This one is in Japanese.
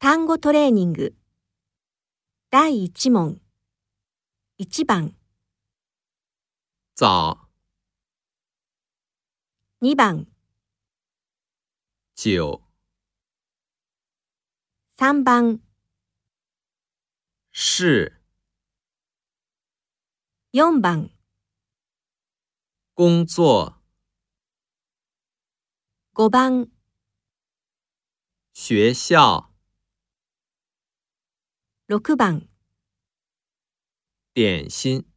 単語トレーニング第1問1番早、 2番九、 3番是、 4番工作、 5番学校、 6番点心。